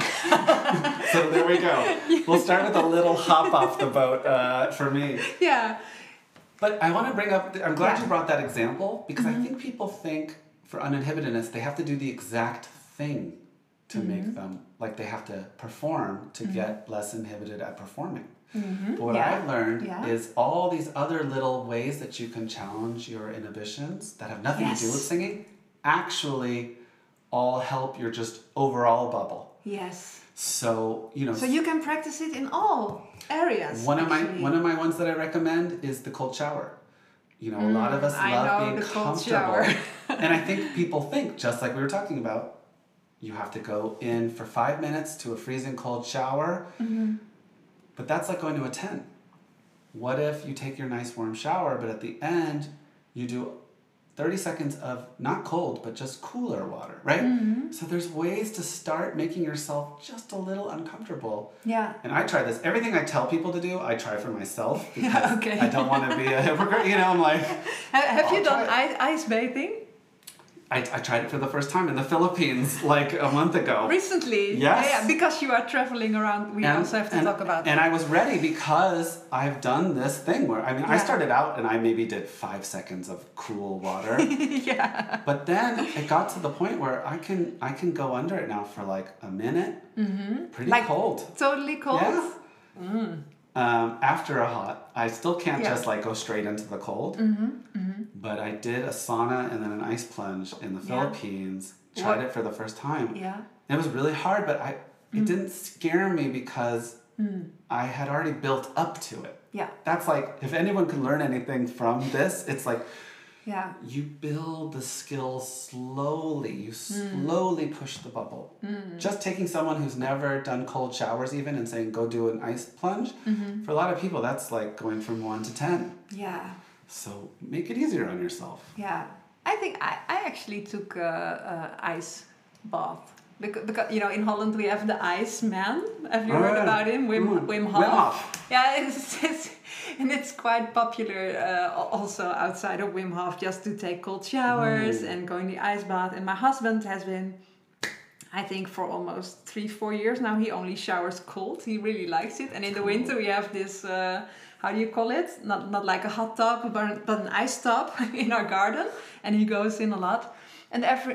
So there we go. We'll start with a little hop off the boat for me. Yeah. But I want to bring up, I'm glad you brought that example, because I think people think for uninhibitedness, they have to do the exact thing to make them, like they have to perform to get less inhibited at performing. But what I've learned is all these other little ways that you can challenge your inhibitions that have nothing to do with singing actually all help your just overall bubble. Yes. So, you know. So you can practice it in all areas. One of my ones that I recommend is the cold shower. You know, a lot of us love being comfortable. And I think people think, just like we were talking about, you have to go in for 5 minutes to a freezing cold shower. But that's like going to a tent. What if you take your nice warm shower, but at the end, you do 30 seconds of not cold, but just cooler water, right? So there's ways to start making yourself just a little uncomfortable. Yeah. And I try this. Everything I tell people to do, I try for myself. Because I don't want to be a hypocrite. You know, I'm like... Have you done ice bathing? I tried it for the first time in the Philippines like a month ago. Recently? Yes. Yeah, because you are traveling around. We also have to talk about that. And I was ready because I've done this thing where, I mean, I started out and I maybe did 5 seconds of cool water. But then it got to the point where I can go under it now for like a minute. Pretty like cold. Totally cold? Yeah. After a hot, I still can't just like go straight into the cold. But I did a sauna and then an ice plunge in the Philippines. Tried it for the first time. Yeah. It was really hard, but it didn't scare me because I had already built up to it. Yeah. That's like, if anyone can learn anything from this, it's like, you build the skill slowly. You slowly push the bubble. Just taking someone who's never done cold showers even and saying, go do an ice plunge, for a lot of people, that's like going from 1 to 10. Yeah. So make it easier on yourself. Yeah. I think I actually took a ice bath. Because, you know, in Holland we have the Ice Man. Have you heard about him? Wim Hof. Yeah, it's quite popular also outside of Wim Hof, just to take cold showers and go in the ice bath. And my husband has been, I think, for almost 3-4 years now, he only showers cold. He really likes it. And in the winter we have this, how do you call it? Not like a hot tub, but an ice tub in our garden. And he goes in a lot. And does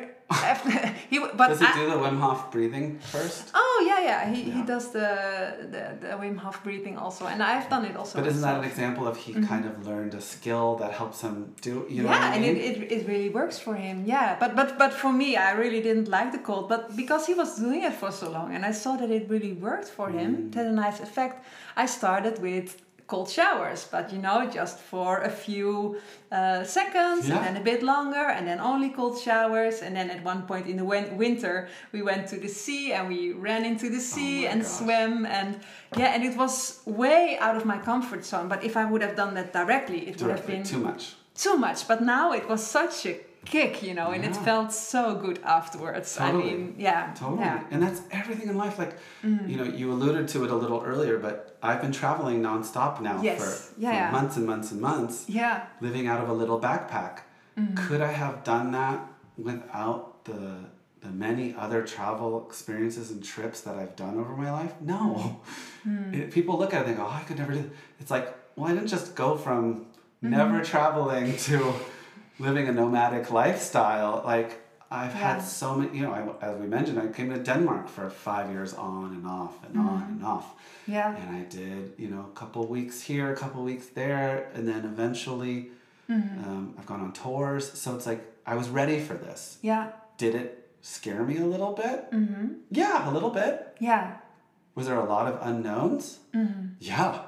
he do the Wim Hof breathing first? Oh yeah. He does the Wim Hof breathing also, and I've done it also. But isn't that an example of he kind of learned a skill that helps him do? You know what I mean? And it really works for him. Yeah, but for me, I really didn't like the cold, but because he was doing it for so long, and I saw that it really worked for him, it had a nice effect. I started with cold showers, but you know, just for a few seconds and then a bit longer, and then only cold showers. And then at one point in the winter we went to the sea and we ran into the sea and swam, and it was way out of my comfort zone. But if I would have done that directly, it would have been too much. But now it was such a kick, you know, and it felt so good afterwards. Totally. I mean, totally. And that's everything in life. Like, you know, you alluded to it a little earlier, but I've been traveling nonstop now for months and months and months. Yeah. Living out of a little backpack. Could I have done that without the many other travel experiences and trips that I've done over my life? No. People look at it and think, I could never do it. It's like, well, I didn't just go from never traveling to living a nomadic lifestyle. Like, I've had so many, you know, as we mentioned, I came to Denmark for 5 years on and off and on and off. Yeah. And I did, you know, a couple weeks here, a couple weeks there, and then eventually I've gone on tours. So it's like, I was ready for this. Yeah. Did it scare me a little bit? Yeah, a little bit. Yeah. Was there a lot of unknowns? Yeah.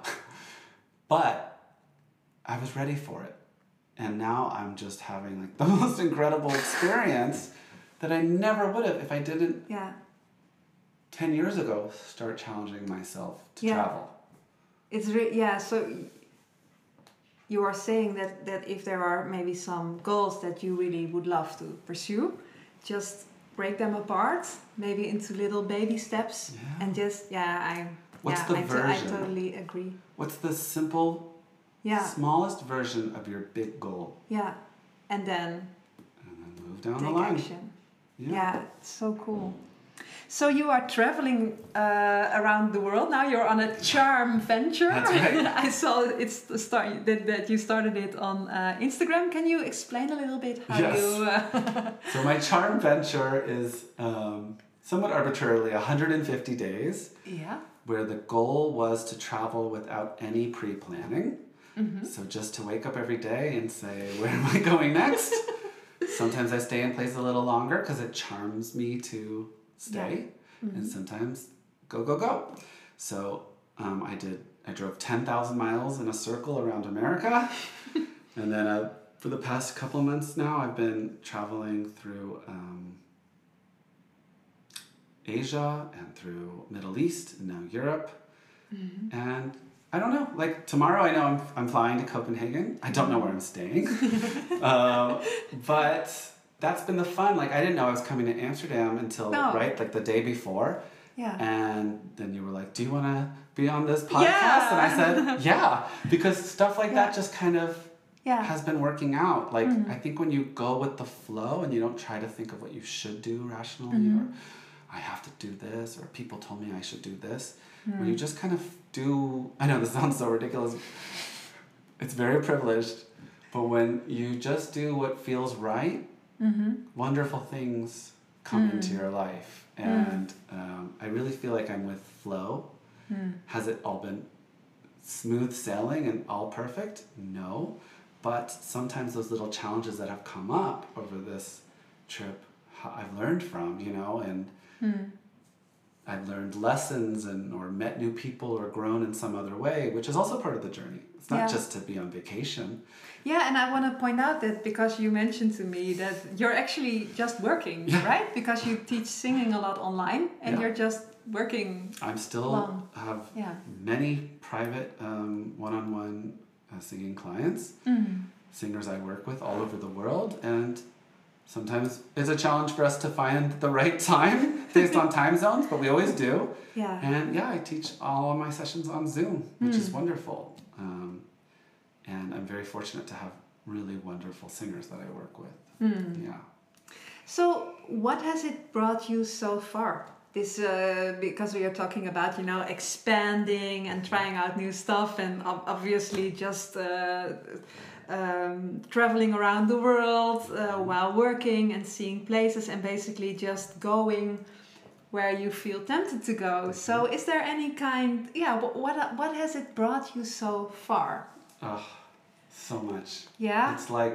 But I was ready for it. And now I'm just having like the most incredible experience that I never would have if I didn't 10 years ago, start challenging myself to Yeah. travel. It's so you are saying that if there are maybe some goals that you really would love to pursue, just break them apart, maybe into little baby steps, Yeah. and just What's the I version? totally agree. What's the simple, Yeah, smallest version of your big goal? yeah, and then Move down the take line. action. Yeah, it's so cool. So you are traveling around the world now. You're on a charm venture. That's right. I saw it's the start that you started it on Instagram. Can you explain a little bit how Yes. you? So my charm venture is somewhat arbitrarily 150 days, Yeah. where the goal was to travel without any pre-planning. Mm-hmm. So just to wake up every day and say, where am I going next? Sometimes I stay in place a little longer because it charms me to stay. Yeah. Mm-hmm. And sometimes go. So I drove 10,000 miles in a circle around America. And then for the past couple of months now, I've been traveling through Asia and through Middle East and now Europe. Mm-hmm. And I don't know, like tomorrow I know I'm flying to Copenhagen. I don't know where I'm staying. But that's been the fun. Like I didn't know I was coming to Amsterdam until, right, like the day before. Yeah. And then you were like, do you want to be on this podcast? And I said, yeah, because stuff like that just kind of has been working out. Like I think when you go with the flow and you don't try to think of what you should do rationally or I have to do this or people told me I should do this. When you just kind of do, I know this sounds so ridiculous. It's very privileged. But when you just do what feels right, wonderful things come into your life. And I really feel like I'm with flow. Has it all been smooth sailing and all perfect? No. But sometimes those little challenges that have come up over this trip, I've learned from, and I've learned lessons or met new people or grown in some other way, which is also part of the journey. It's not just to be on vacation. Yeah, and I want to point out that because you mentioned to me that you're actually just working, right? Because you teach singing a lot online and you're just working. I'm still have many private one-on-one singing clients, singers I work with all over the world, and sometimes it's a challenge for us to find the right time based on time zones, but we always do. Yeah. And I teach all of my sessions on Zoom, which is wonderful. And I'm very fortunate to have really wonderful singers that I work with. Yeah. So what has it brought you so far? This because we are talking about expanding and trying out new stuff, and obviously just traveling around the world while working and seeing places and basically just going where you feel tempted to go. So is there any kind, what has it brought you so far? Oh, so much. Yeah? It's like,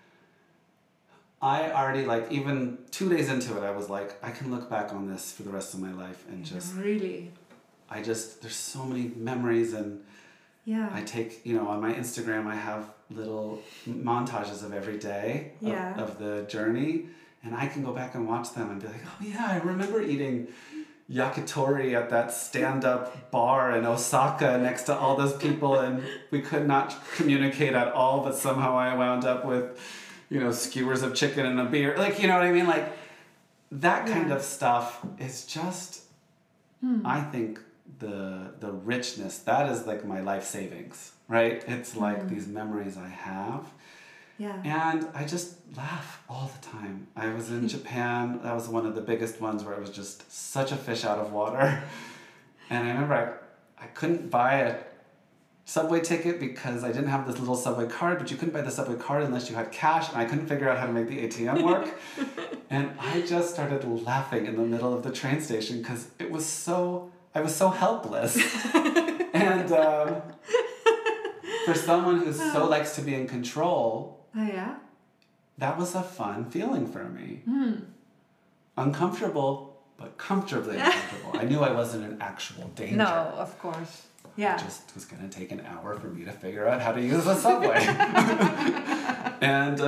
I already, even 2 days into it, I was like, I can look back on this for the rest of my life and just... Really? there's so many memories and I take, on my Instagram, I have little montages of every day of the journey, and I can go back and watch them and be like, oh yeah, I remember eating yakitori at that stand-up bar in Osaka next to all those people, and we could not communicate at all, but somehow I wound up with, skewers of chicken and a beer. You know what I mean? That kind of stuff is just, I think, the richness, that is my life savings, right? It's these memories I have. Yeah. And I just laugh all the time. I was in Japan. That was one of the biggest ones where I was just such a fish out of water. And I remember I couldn't buy a subway ticket because I didn't have this little subway card, but you couldn't buy the subway card unless you had cash, and I couldn't figure out how to make the ATM work. And I just started laughing in the middle of the train station because I was so helpless. And for someone who so likes to be in control, that was a fun feeling for me. Uncomfortable, but comfortably uncomfortable. I knew I wasn't in actual danger. No, of course. Yeah. It just was going to take an hour for me to figure out how to use the subway. And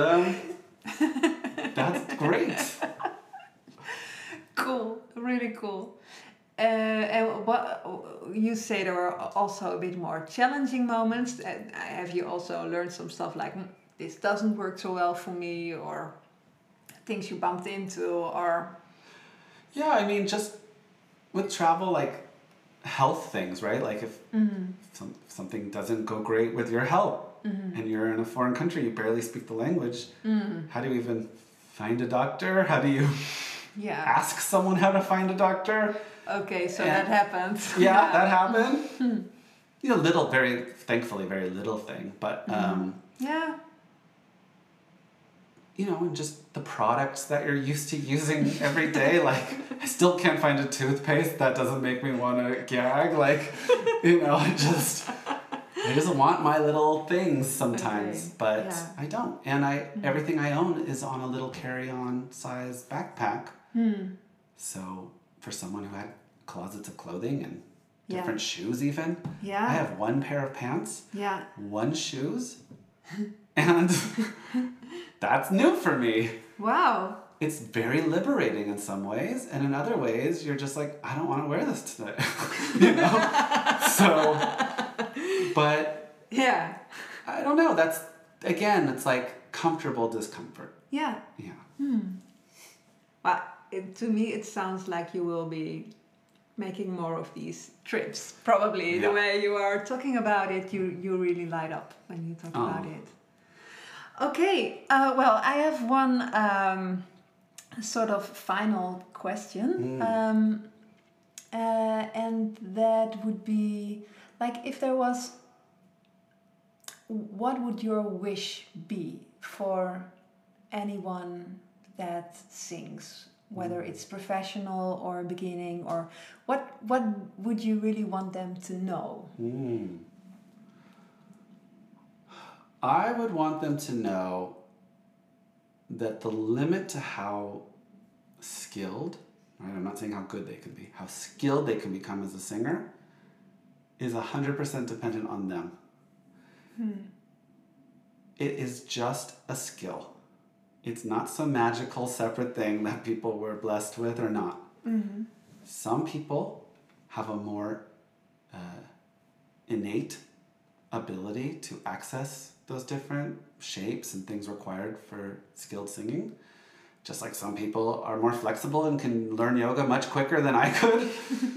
that's great. Cool. Really cool. And what you say, there were also a bit more challenging moments. Have you also learned some stuff like, this doesn't work so well for me, or things you bumped into, or... Yeah, I mean, just with travel, like health things, right? Like if something doesn't go great with your health and you're in a foreign country, you barely speak the language, how do you even find a doctor? How do you ask someone how to find a doctor? Okay, so that happened. Yeah, that happened. You know, thankfully, very little thing, but you know, and just the products that you're used to using every day. Like, I still can't find a toothpaste that doesn't make me want to gag. Like, you know, I just want my little things sometimes, but I don't. And everything I own is on a little carry-on size backpack. So for someone who had closets of clothing and different shoes even, I have one pair of pants, one shoes, and that's new for me. Wow. It's very liberating in some ways, and in other ways, you're just like, I don't want to wear this today. You know? So, but yeah, I don't know. That's, again, it's like comfortable discomfort. Yeah. Yeah. Well, to me, it sounds like you will be making more of these trips. Probably the way you are talking about it, you really light up when you talk about it. Okay, well, I have one sort of final question. And that would be, like, if there was, what would your wish be for anyone that sings, whether it's professional or beginning, or what would you really want them to know? I would want them to know that the limit to how skilled, right? I'm not saying how good they can be, how skilled they can become as a singer is 100% dependent on them. It is just a skill. It's not some magical separate thing that people were blessed with or not. Some people have a more innate ability to access those different shapes and things required for skilled singing. Just like some people are more flexible and can learn yoga much quicker than I could.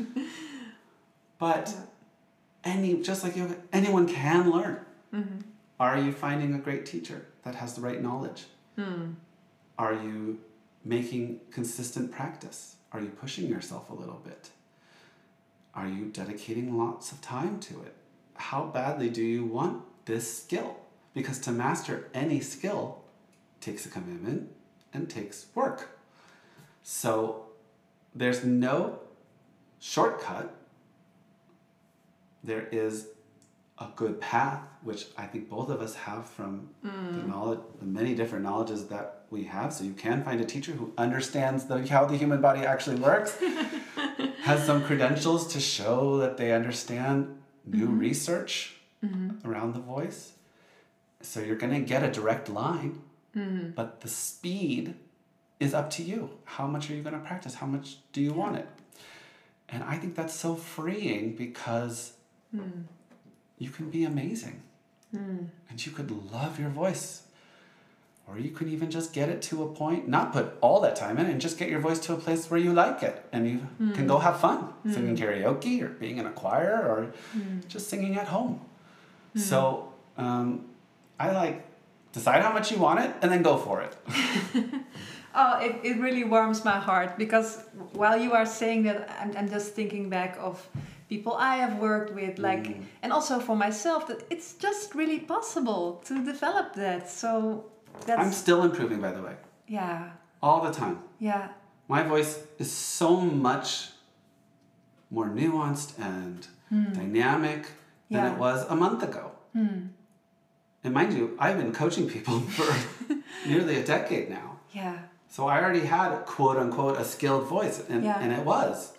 But just like yoga, anyone can learn. Are you finding a great teacher that has the right knowledge? Are you making consistent practice? Are you pushing yourself a little bit? Are you dedicating lots of time to it? How badly do you want this skill? Because to master any skill takes a commitment and takes work. So there's no shortcut. There is a good path, which I think both of us have from the many different knowledges that we have. So you can find a teacher who understands how the human body actually works, has some credentials to show that they understand new research around the voice. So you're going to get a direct line, but the speed is up to you. How much are you going to practice? How much do you want it? And I think that's so freeing because you can be amazing. And you could love your voice. Or you could even just get it to a point, not put all that time in, and just get your voice to a place where you like it. And you can go have fun singing karaoke or being in a choir or just singing at home. So I decide how much you want it and then go for it. It really warms my heart, because while you are saying that, I'm just thinking back of people I have worked with, and also for myself, that it's just really possible to develop that. So I'm still improving, by the way. Yeah. All the time. Yeah. My voice is so much more nuanced and dynamic than it was a month ago. And mind you, I've been coaching people for nearly a decade now. Yeah. So I already had, quote unquote, a skilled voice, and it was.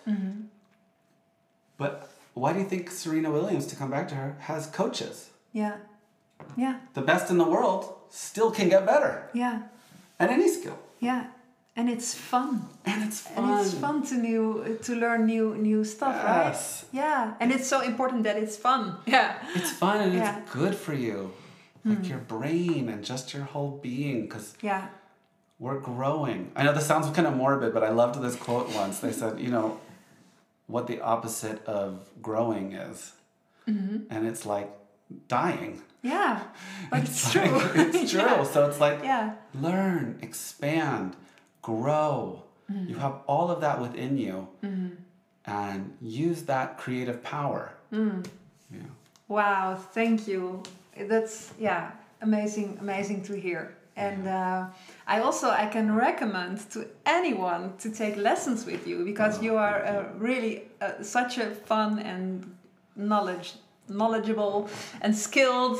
But why do you think Serena Williams, to come back to her, has coaches? Yeah. Yeah. The best in the world still can get better. Yeah. At any skill. Yeah. And it's fun. And it's fun. And it's fun to learn new stuff, Yes. right? Yeah. And it's so important that it's fun. Yeah. It's fun and Yeah. it's good for you. Like your brain and just your whole being, because Yeah. we're growing. I know this sounds kind of morbid, but I loved this quote once. They said, you know, what the opposite of growing is. And it's like dying. Yeah. But it's true. It's true. Yeah. So it's like, Yeah. learn, expand, grow. You have all of that within you. And use that creative power. Yeah. Wow, thank you. That's amazing to hear. And I can recommend to anyone to take lessons with you, because you are really such a fun and knowledgeable and skilled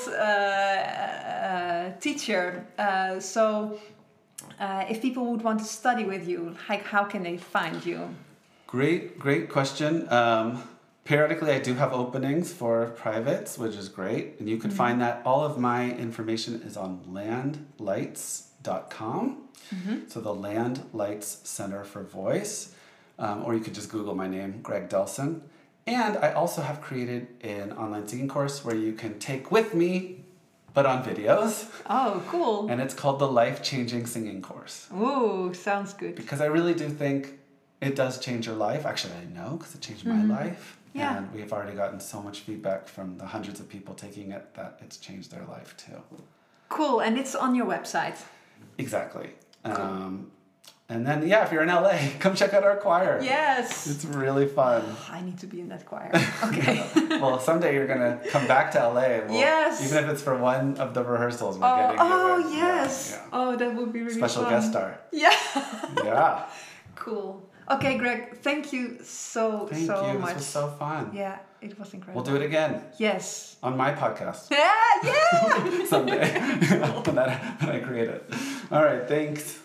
teacher. So if people would want to study with you, like, how can they find you? Great question. Periodically, I do have openings for privates, which is great. And you can find that. All of my information is on landlights.com. So the Land Lights Center for Voice. Or you could just Google my name, Greg Delson. And I also have created an online singing course where you can take with me, but on videos. Oh, cool. And it's called the Life Changing Singing Course. Ooh, sounds good. Because I really do think it does change your life. Actually, I know, because it changed my life. Yeah. And we have already gotten so much feedback from the hundreds of people taking it that it's changed their life too. Cool, and it's on your website. Exactly. And then, if you're in LA, come check out our choir. Yes. It's really fun. I need to be in that choir. Okay. Well, someday you're going to come back to LA. Yes. Even if it's for one of the rehearsals, we're getting you. Oh, in. yes. Yeah. Oh, that would be really Special fun. guest star. Yeah. Yeah. Cool. Okay, Greg, thank you so Thank much. you. This was so fun. Yeah, it was incredible. We'll do it again. Yes. On my podcast. Yeah. Someday. when I create it. All right. Thanks.